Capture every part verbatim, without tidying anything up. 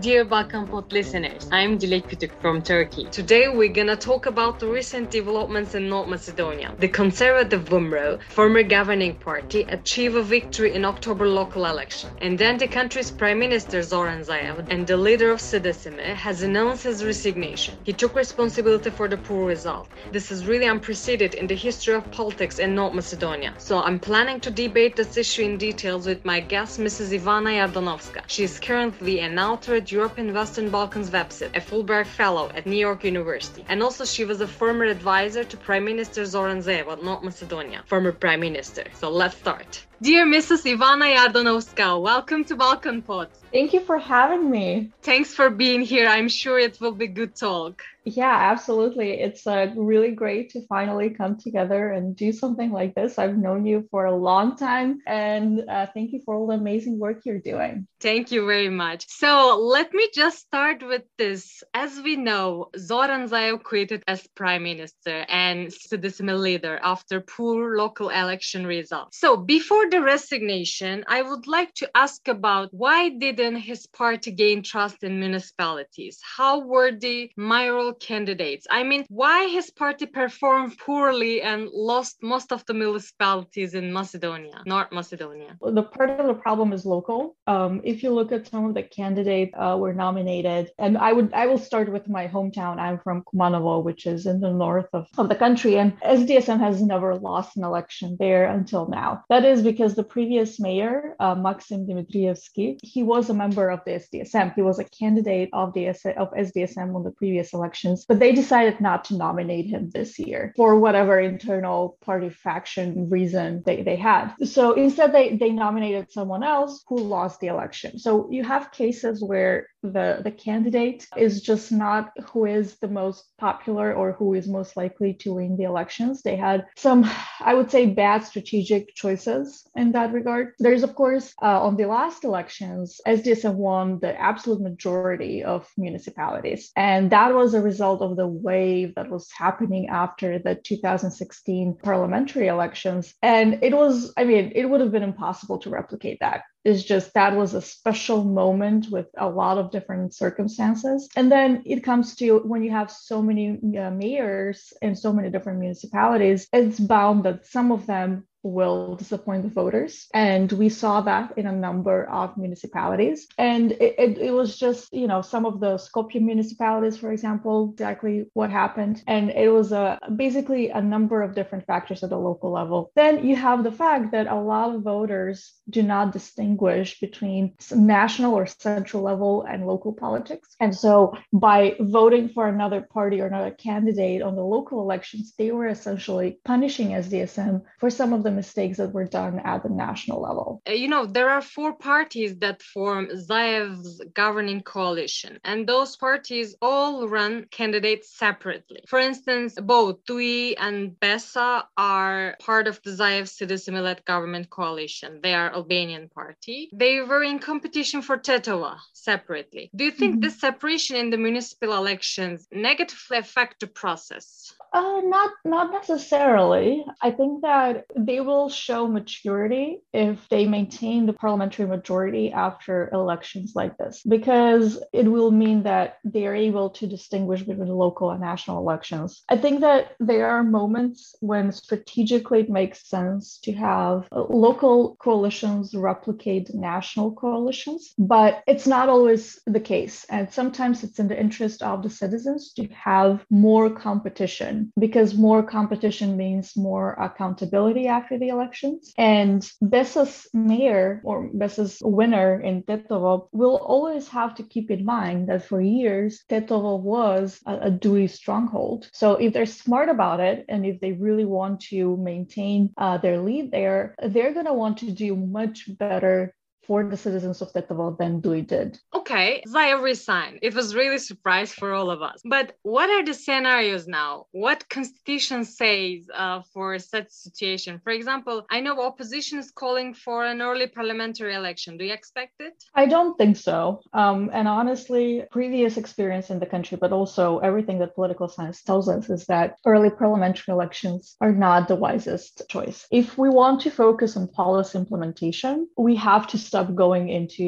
Dear Balkan Pod listeners, I'm Dilek Kütük from Turkey. Today we're gonna talk about the recent developments in North Macedonia. The conservative VMRO, former governing party, achieved a victory in October local election. And then the country's Prime Minister Zoran Zaev and the leader of Sdesimi has announced his resignation. He took responsibility for the poor result. This is really unprecedented in the history of politics in North Macedonia. So I'm planning to debate this issue in details with my guest, Missus Ivana Yardanovska. She is currently an author at European Western Balkans website, a Fulbright Fellow at New York University, and also she was a former advisor to Prime Minister Zoran Zaev of North Macedonia, former Prime Minister. So let's start. Dear Missus Ivana Yardanovska, welcome to Balkan Pod. Thank you for having me. Thanks for being here. I'm sure it will be good talk. Yeah, absolutely. It's uh, really great to finally come together and do something like this. I've known you for a long time, and uh, thank you for all the amazing work you're doing. Thank you very much. So let me just start with this. As we know, Zoran Zaev quitted as Prime Minister and Sdesimi leader after poor local election results. So before the resignation, I would like to ask about why didn't his party gain trust in municipalities? How were the mayoral candidates? I mean, why his party performed poorly and lost most of the municipalities in Macedonia, North Macedonia? The part of the problem is local. Um, if you look at some of the candidates uh, were nominated, and I would I will start with my hometown. I'm from Kumanovo, which is in the north of, of the country, and S D S M has never lost an election there until now. That is because the previous mayor, uh, Maxim Dimitrievski, he was a member of the S D S M. He was a candidate of the of S D S M on the previous elections, but they decided not to nominate him this year for whatever internal party faction reason they, they had. So instead, they, they nominated someone else who lost the election. So you have cases where the, the candidate is just not who is the most popular or who is most likely to win the elections. They had some, I would say, bad strategic choices in that regard. There's, of course, uh, on the last elections, S D S M won the absolute majority of municipalities. And that was a result of the wave that was happening after the two thousand sixteen parliamentary elections. And it was, I mean, it would have been impossible to replicate that. It's just that was a special moment with a lot of different circumstances. And then it comes to when you have so many uh, mayors in so many different municipalities, it's bound that some of them will disappoint the voters. And we saw that in a number of municipalities. And it, it, it was just, you know, some of the Skopje municipalities, for example, exactly what happened. And it was a, basically a number of different factors at the local level. Then you have the fact that a lot of voters do not distinguish between national or central level and local politics. And so by voting for another party or another candidate on the local elections, they were essentially punishing S D S M for some of the mistakes that were done at the national level. You know, there are four parties that form Zaev's governing coalition, and those parties all run candidates separately. For instance, both D U I and BESA are part of the Zaev Sdesimi-led government coalition. They are Albanian party. They were in competition for Tetova separately. Do you think mm-hmm. this separation in the municipal elections negatively affect the process? Uh, not not necessarily. I think that they will show maturity if they maintain the parliamentary majority after elections like this, because it will mean that they are able to distinguish between local and national elections. I think that there are moments when strategically it makes sense to have local coalitions replicate national coalitions, but it's not always the case. And sometimes it's in the interest of the citizens to have more competition, because more competition means more accountability after the elections. And BESA's mayor or BESA's winner in Tetovo will always have to keep in mind that for years, Tetovo was a, a D U I stronghold. So if they're smart about it, and if they really want to maintain uh, their lead there, they're going to want to do much better for the citizens of Tetovo than D U I did. Okay, Zaev resigned. It was really a surprise for all of us. But what are the scenarios now? What constitution says uh, for such situation? For example, I know opposition is calling for an early parliamentary election. Do you expect it? I don't think so. Um, and honestly, previous experience in the country, but also everything that political science tells us is that early parliamentary elections are not the wisest choice. If we want to focus on policy implementation, we have to stop going into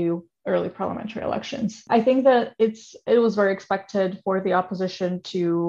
early parliamentary elections. I think that it's it was very expected for the opposition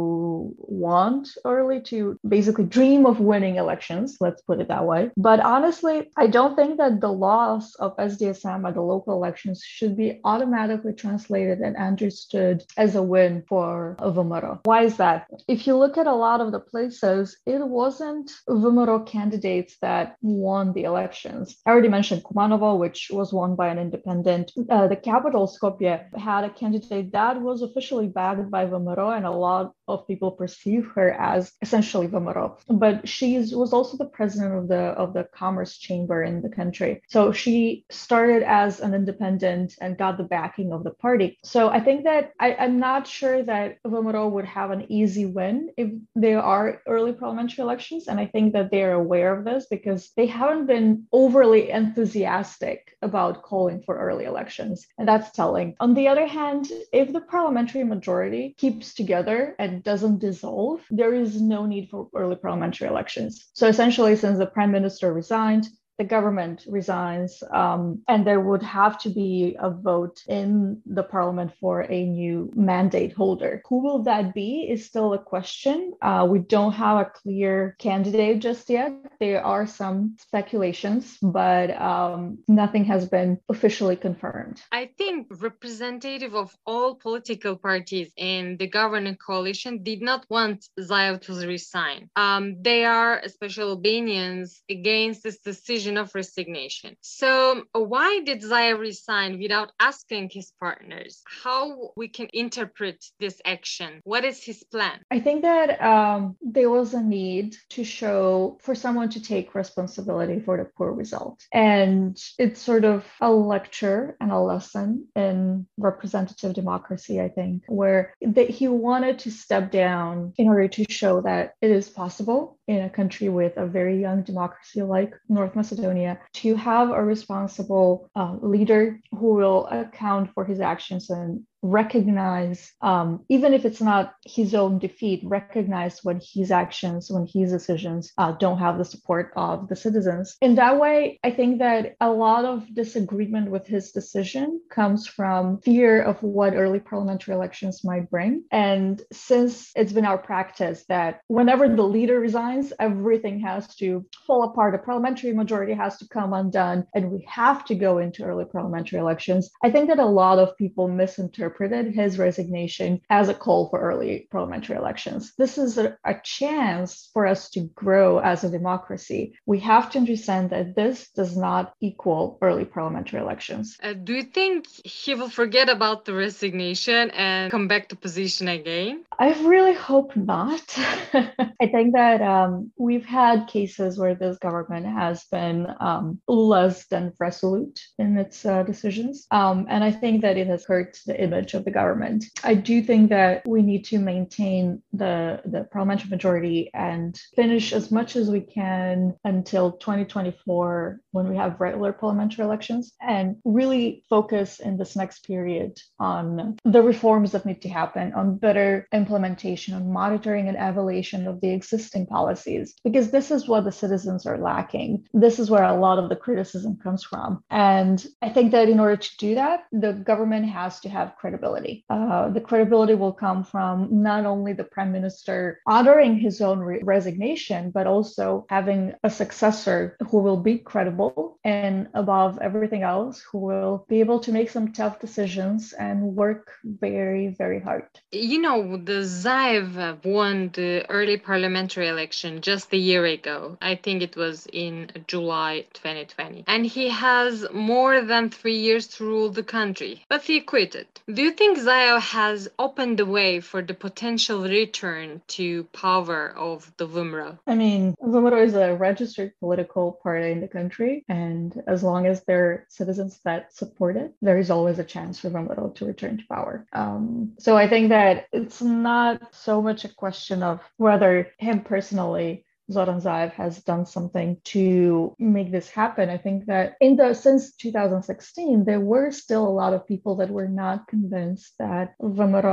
to want early, to basically dream of winning elections, let's put it that way. But honestly, I don't think that the loss of S D S M at the local elections should be automatically translated and understood as a win for VMRO. Why is that? If you look at a lot of the places, it wasn't VMRO candidates that won the elections. I already mentioned Kumanovo, which was won by an independent. Uh, the capital, Skopje, had a candidate that was officially backed by VMRO, and a lot of people perceive her as essentially VMRO. But she was also the president of the of the commerce chamber in the country. So she started as an independent and got the backing of the party. So I think that I, I'm not sure that VMRO would have an easy win if there are early parliamentary elections. And I think that they're aware of this because they haven't been overly enthusiastic about calling for early elections. And that's telling. On the other hand, if the parliamentary majority keeps together and doesn't dissolve, there is no need for early parliamentary elections. So essentially, since the prime minister resigned, the government resigns, um, and there would have to be a vote in the parliament for a new mandate holder. Who will that be is still a question. Uh, we don't have a clear candidate just yet. There are some speculations, but um, nothing has been officially confirmed. I think representative of all political parties in the governing coalition did not want Zaev to resign. Um, they are, especially Albanians, against this decision of resignation. So why did Zaev resign without asking his partners? How we can interpret this action? What is his plan? I think that um, there was a need to show for someone to take responsibility for the poor result. And it's sort of a lecture and a lesson in representative democracy, I think, where that he wanted to step down in order to show that it is possible in a country with a very young democracy like North Macedonia to have a responsible uh, leader who will account for his actions and recognize, um, even if it's not his own defeat, recognize when his actions, when his decisions uh, don't have the support of the citizens. In that way, I think that a lot of disagreement with his decision comes from fear of what early parliamentary elections might bring. And since it's been our practice that whenever the leader resigns, everything has to fall apart, the parliamentary majority has to come undone, and we have to go into early parliamentary elections, I think that a lot of people misinterpret interpreted his resignation as a call for early parliamentary elections. This is a, a chance for us to grow as a democracy. We have to understand that this does not equal early parliamentary elections. Uh, do you think he will forget about the resignation and come back to position again? I really hope not. I think that um, we've had cases where this government has been um, less than resolute in its uh, decisions. Um, and I think that it has hurt the image of the government. I do think that we need to maintain the, the parliamentary majority and finish as much as we can until twenty twenty-four when we have regular parliamentary elections and really focus in this next period on the reforms that need to happen, on better implementation, on monitoring and evaluation of the existing policies, because this is what the citizens are lacking. This is where a lot of the criticism comes from. And I think that in order to do that, the government has to have credibility. Uh, the credibility will come from not only the prime minister honoring his own re- resignation, but also having a successor who will be credible and above everything else, who will be able to make some tough decisions and work very, very hard. You know, the Zaev won the early parliamentary election just a year ago. I think it was in July twenty twenty. And he has more than three years to rule the country, but he quitted. Do you think Zaev has opened the way for the potential return to power of the VMRO? I mean, VMRO is a registered political party in the country, and as long as there are citizens that support it, there is always a chance for VMRO to return to power. Um, so I think that it's not so much a question of whether him personally, Zoran Zaev, has done something to make this happen. I think that in the since two thousand sixteen, there were still a lot of people that were not convinced that VMRO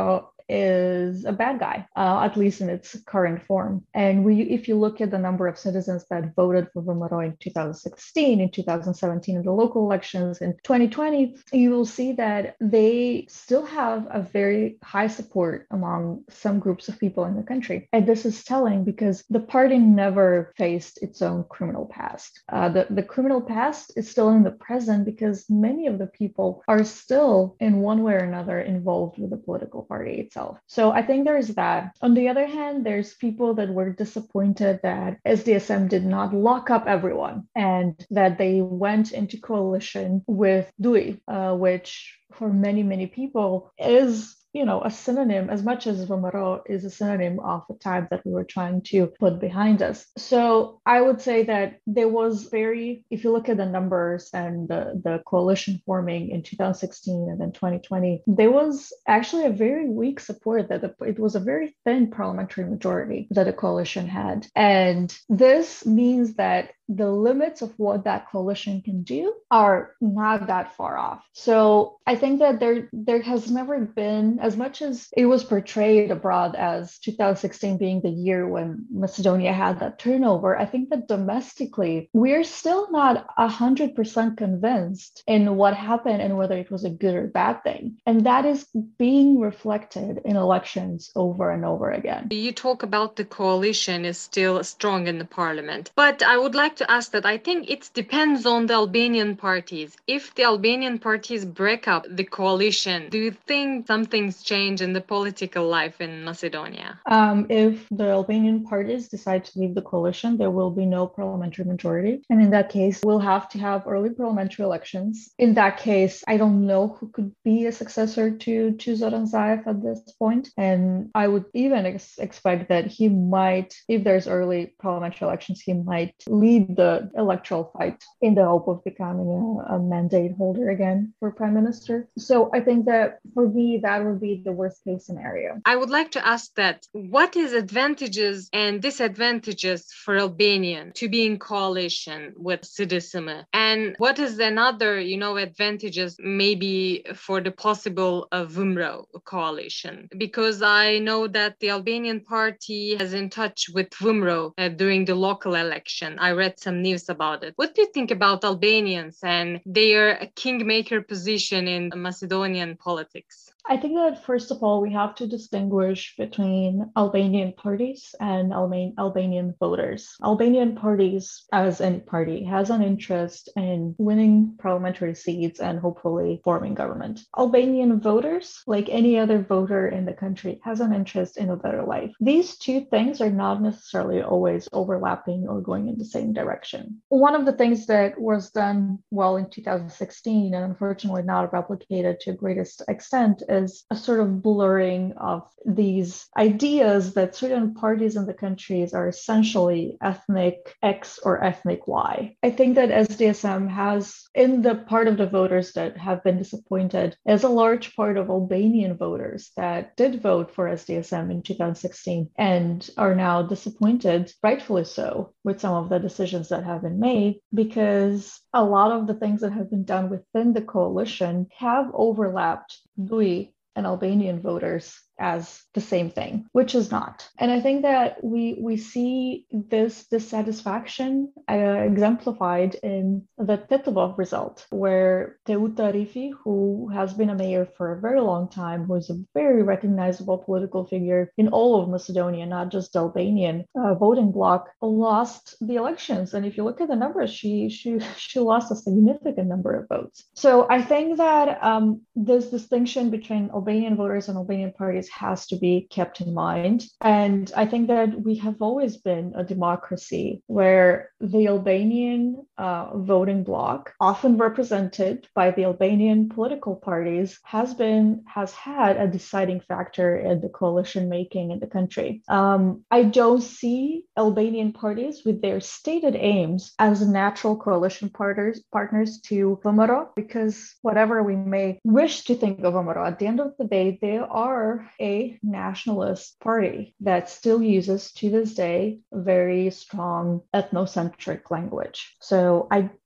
is a bad guy, uh, at least in its current form. And we, if you look at the number of citizens that voted for VMRO in two thousand sixteen, in two thousand seventeen, in the local elections, in twenty twenty, you will see that they still have a very high support among some groups of people in the country. And this is telling because the party never faced its own criminal past. Uh, the, the criminal past is still in the present because many of the people are still in one way or another involved with the political party itself. So I think there's that. On the other hand, there's people that were disappointed that S D S M did not lock up everyone and that they went into coalition with D U I, uh, which for many, many people is, you know, a synonym, as much as VMRO is a synonym of the time that we were trying to put behind us. So I would say that there was very, if you look at the numbers and the, the coalition forming in two thousand sixteen and then twenty twenty, there was actually a very weak support that the, it was a very thin parliamentary majority that the coalition had. And this means that the limits of what that coalition can do are not that far off. So I think that there, there has never been, as much as it was portrayed abroad as two thousand sixteen being the year when Macedonia had that turnover, I think that domestically, we're still not one hundred percent convinced in what happened and whether it was a good or bad thing. And that is being reflected in elections over and over again. You talk about the coalition is still strong in the parliament, but I would like to ask that I think it depends on the Albanian parties. If the Albanian parties break up the coalition, do you think something's changed in the political life in Macedonia? Um, if the Albanian parties decide to leave the coalition, there will be no parliamentary majority. And in that case, we'll have to have early parliamentary elections. In that case, I don't know who could be a successor to, to Zoran Zaev at this point. And I would even ex- expect that he might, if there's early parliamentary elections, he might lead the electoral fight in the hope of becoming a, a mandate holder again for prime minister. So I think that for me, that would be the worst case scenario. I would like to ask that what is advantages and disadvantages for Albanian to be in coalition with Sidisima? And what is another, you know, advantages maybe for the possible uh, VMRO coalition? Because I know that the Albanian party has in touch with VMRO uh, during the local election. I read some news about it. What do you think about Albanians and their kingmaker position in Macedonian politics? I think that first of all, we have to distinguish between Albanian parties and Alban- Albanian voters. Albanian parties, as any party, has an interest in winning parliamentary seats and hopefully forming government. Albanian voters, like any other voter in the country, has an interest in a better life. These two things are not necessarily always overlapping or going in the same direction. One of the things that was done well in two thousand sixteen and unfortunately not replicated to a greatest extent is a sort of blurring of these ideas that certain parties in the countries are essentially ethnic X or ethnic Y. I think that S D S M has, in the part of the voters that have been disappointed, is a large part of Albanian voters that did vote for S D S M in two thousand sixteen and are now disappointed, rightfully so, with some of the decisions that have been made, because a lot of the things that have been done within the coalition have overlapped D U I and Albanian voters as the same thing, which is not. And I think that we we see this dissatisfaction uh, exemplified in the Titova result, where Teuta Rifi, who has been a mayor for a very long time, who is a very recognizable political figure in all of Macedonia, not just the Albanian uh, voting bloc, lost the elections. And if you look at the numbers, she she she lost a significant number of votes. So I think that um, this distinction between Albanian voters and Albanian parties has to be kept in mind. And I think that we have always been a democracy where the Albanian uh, voting bloc, often represented by the Albanian political parties, has been has had a deciding factor in the coalition making in the country. Um, I don't see Albanian parties with their stated aims as natural coalition partners partners to VMRO, because whatever we may wish to think of VMRO, at the end of the day, they are a nationalist party that still uses to this day very strong ethnocentric language. So I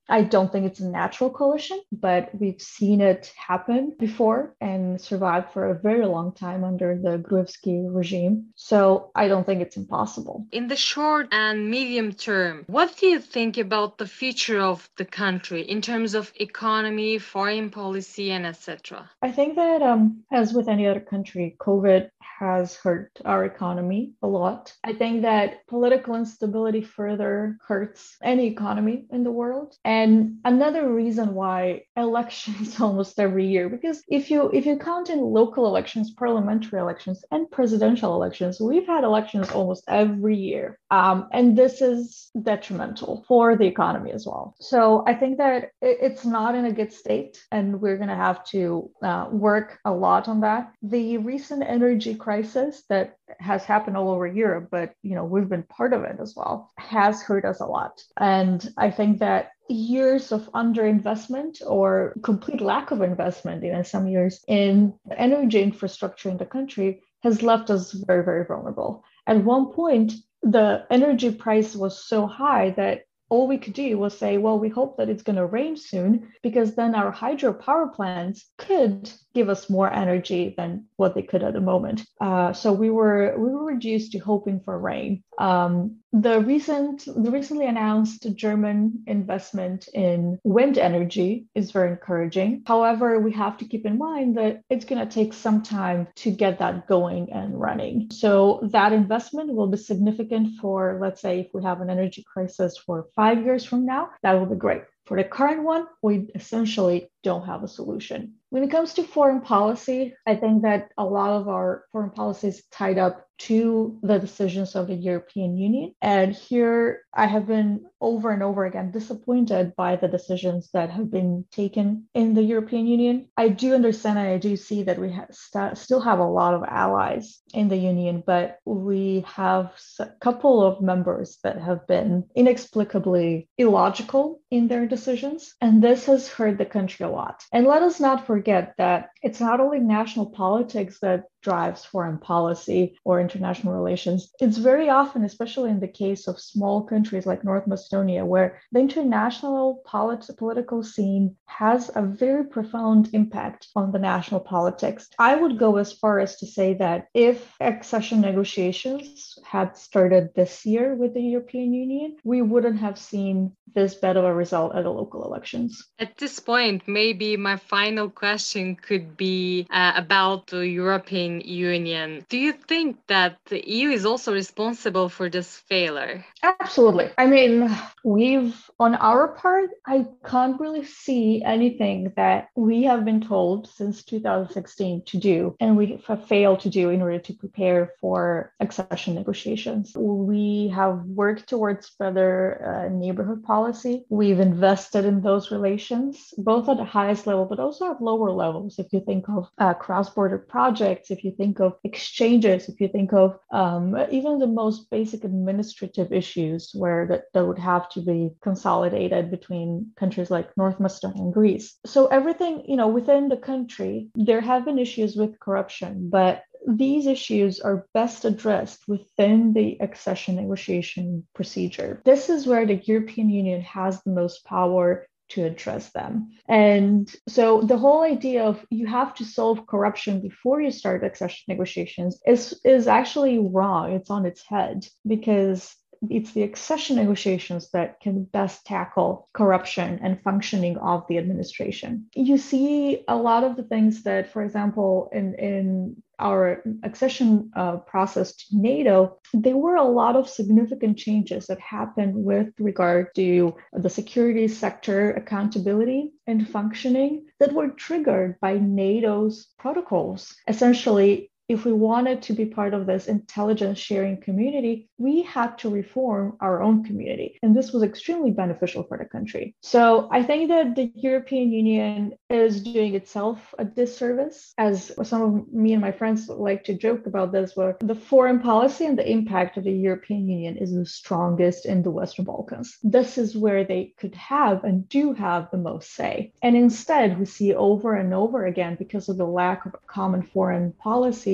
I don't think it's a natural coalition, but we've seen it happen before and survived for a very long time under the Gruevski regime. So I don't think it's impossible. In the short and medium term, what do you think about the future of the country in terms of economy, foreign policy, and et cetera? I think that, um, as with any other country, COVID has hurt our economy a lot. I think that political instability further hurts any economy in the world. And another reason why elections almost every year, because if you if you count in local elections, parliamentary elections, and presidential elections, we've had elections almost every year. Um, and this is detrimental for the economy as well. So I think that it's not in a good state, and we're going to have to uh, work a lot on that. The recent energy crisis that has happened all over Europe, but you know we've been part of it as well, has hurt us a lot. And I think that years of underinvestment or complete lack of investment, even some years, in energy infrastructure in the country has left us very, very vulnerable. At one point, the energy price was so high that all we could do was say, well, we hope that it's going to rain soon, because then our hydropower plants could give us more energy than what they could at the moment. Uh, so we were we were reduced to hoping for rain. Um, the recent the recently announced German investment in wind energy is very encouraging. However, we have to keep in mind that it's going to take some time to get that going and running. So that investment will be significant for, let's say, if we have an energy crisis for five years from now, that will be great. For the current one, we essentially don't have a solution. When it comes to foreign policy, I think that a lot of our foreign policy is tied up to the decisions of the European Union. And here I have been over and over again disappointed by the decisions that have been taken in the European Union. I do understand and I do see that we ha- st- still have a lot of allies in the Union, but we have a couple of members that have been inexplicably illogical in their decisions. And this has hurt the country a lot. And let us not forget that it's not only national politics that drives foreign policy or international relations. It's very often, especially in the case of small countries like North Macedonia, where the international polit- political scene has a very profound impact on the national politics. I would go as far as to say that if accession negotiations had started this year with the European Union, we wouldn't have seen this bad of a result at the local elections. At this point, maybe my final question could be uh, about the European Union. Do you think that the E U is also responsible for this failure? Absolutely. I mean, we've, on our part, I can't really see anything that we have been told since two thousand sixteen to do, and we have failed to do in order to prepare for accession negotiations. We have worked towards better uh, neighborhood policy. We've invested in those relations, both at the highest level, but also at lower levels. If you think of uh, cross-border projects, if you think of exchanges, if you think of um, even the most basic administrative issues where that, that would have to be consolidated between countries like North Macedonia and Greece. So everything, you know, within the country, there have been issues with corruption, but these issues are best addressed within the accession negotiation procedure. This is where the European Union has the most power to address them. And so the whole idea of you have to solve corruption before you start accession negotiations is, is actually wrong. It's on its head, because it's the accession negotiations that can best tackle corruption and functioning of the administration. You see a lot of the things that, for example, in, in our accession uh, process to NATO, there were a lot of significant changes that happened with regard to the security sector accountability and functioning that were triggered by NATO's protocols. Essentially, if we wanted to be part of this intelligence sharing community, we had to reform our own community. And this was extremely beneficial for the country. So I think that the European Union is doing itself a disservice. As some of me and my friends like to joke about this, where the foreign policy and the impact of the European Union is the strongest in the Western Balkans. This is where they could have and do have the most say. And instead, we see over and over again, because of the lack of a common foreign policy,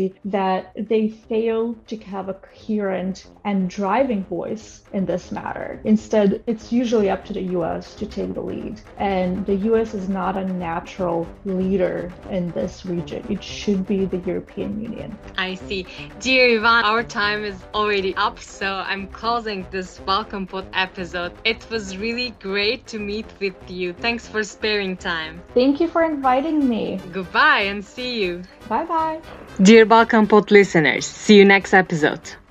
presidency that they fail to have a coherent and driving voice in this matter. Instead, it's usually up to the U S to take the lead. And the U S is not a natural leader in this region. It should be the European Union. I see. Dear Ivan, our time is already up, so I'm closing this Balkan Pod episode. It was really great to meet with you. Thanks for sparing time. Thank you for inviting me. Goodbye and see you. Bye-bye. Dear Balkan Pod listeners, see you next episode.